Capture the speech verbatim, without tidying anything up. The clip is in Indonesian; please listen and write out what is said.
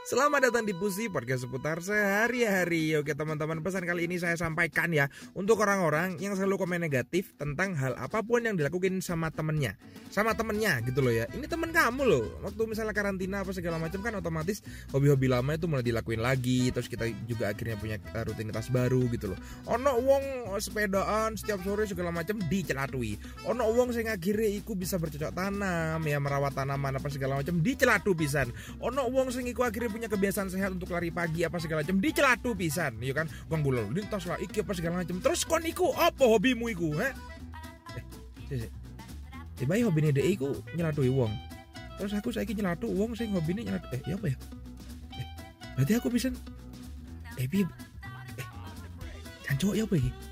Selamat datang di Pusi Podcast seputar sehari-hari. Oke teman-teman, pesan kali ini saya sampaikan ya untuk orang-orang yang selalu komen negatif tentang hal apapun yang dilakukan sama temennya, sama temennya gitu loh ya. Ini temen kamu loh. Waktu misalnya karantina apa segala macam kan otomatis hobi-hobi lama itu mulai dilakuin lagi. Terus kita juga akhirnya punya rutinitas baru gitu loh. Ono wong sepedaan setiap sore segala macam dicelatui. Ono wong sing akhirnya iku bisa bercocok tanam ya, merawat tanaman apa segala macam dicelatu pisan. Ono wong sing iku akhirnya punya kebiasaan sehat untuk lari pagi apa segala macam dicelatu pisan, ya kan? Wong gulung lintas lah iki apa segala macam. Terus kon iku apa hobimu iku, ha? Eh, sik. Eh, bae hobine dhek iku nyelatui wong. Terus aku saiki nyelatu wong sing hobine nyelatu. Eh, ya apa ya? Eh, berarti aku pisan. Eh, piye? Eh, jancuk ya apa iki?